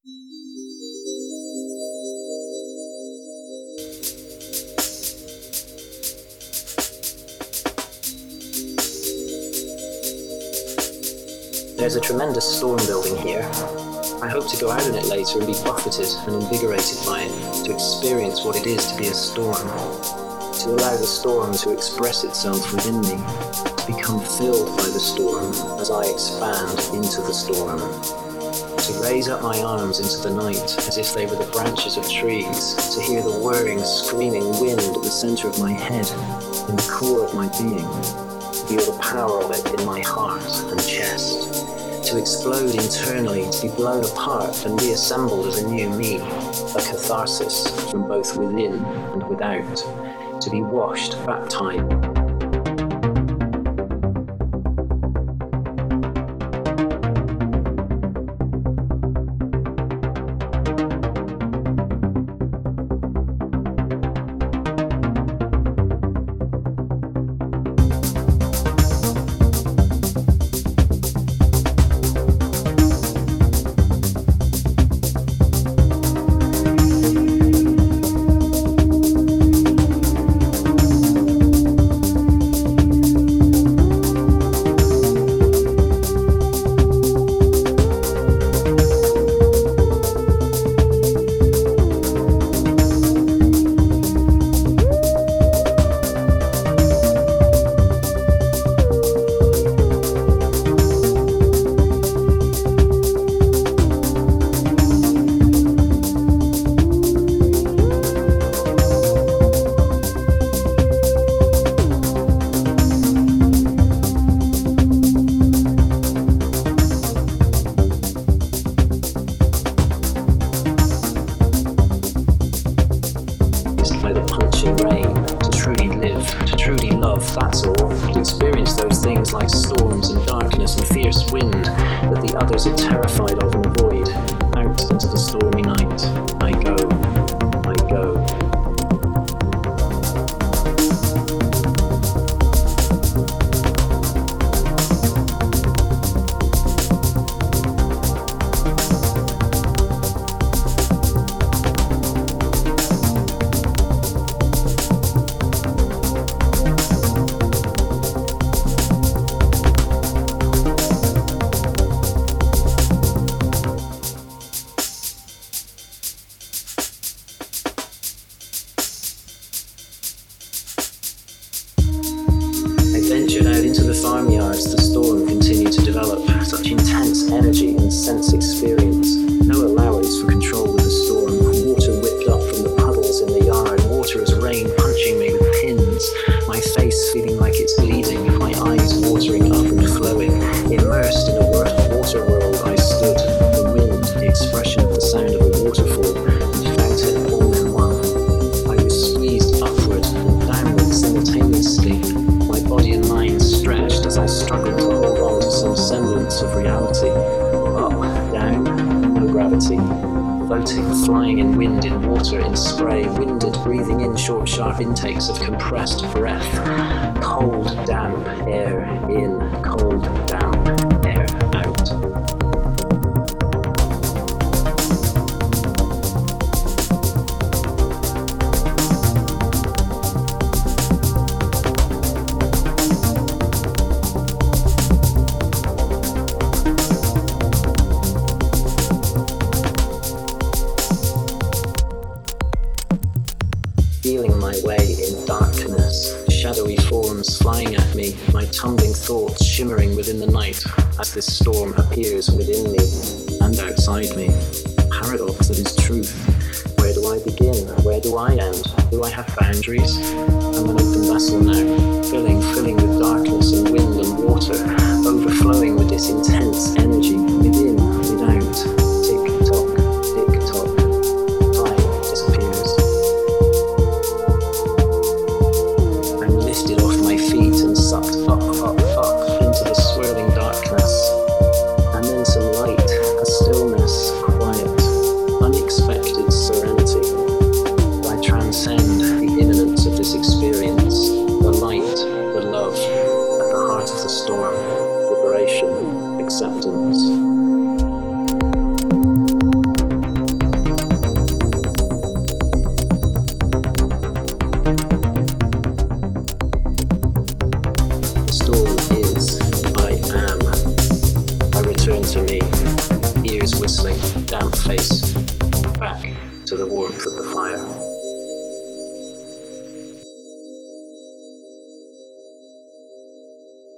There's a tremendous storm building here. I hope to go out in it later and be buffeted and invigorated by it, to experience what it is to be a storm, to allow the storm to express itself within me, to become filled by the storm as I expand into the storm, to raise up my arms into the night as if they were the branches of trees, to hear the whirring, screaming wind at the center of my head, in the core of my being, to feel the power of it in my heart and chest, to explode internally, to be blown apart and reassembled as a new me, a catharsis from both within and without, to be washed, baptized. Rain, to truly live, to truly love, that's all. To experience those things like storms and darkness and fierce wind that the others are terrified of and avoid. Out into the stormy night, I go, I go. Ventured out into the farmyards, the storm continued to develop. Such intense energy and sense experience. No allowance for control with the storm. Water whipped up from the puddles in the yard. Water as rain punching me with pins. My face feeling like it's bleeding. My eyes watering up and flowing. Immersed in a water world I stood. The wind, the expression of the sound of a waterfall. And felt it all in one. I was squeezed upward and downward simultaneously. My body and mind stretched as I struggled to hold on to some semblance of reality. Up, down, no gravity. Floating, flying in wind, in water, in spray, winded, breathing in short, sharp intakes of compressed breath. Cold, damp air in, cold, damp air out. Feeling my way in darkness, shadowy forms flying at me, my tumbling thoughts shimmering within the night as this storm appears within me and outside me. Paradox that is truth. Where do I begin? Where do I end? Do I have boundaries? I'm an open vessel now, filling with darkness and wind and water, overflowing with this intense energy, within, without. Tick-tock, tick-tock. Time disappears. I'm lifted off my feet and sucked up into the swirling darkness. And then some light, a stillness, quiet, unexpected serenity. I transcend the imminence of this experience, the light, the love, at the heart of the storm, liberation, acceptance. turned to me, ears whistling, damp face, back to the warmth of the fire.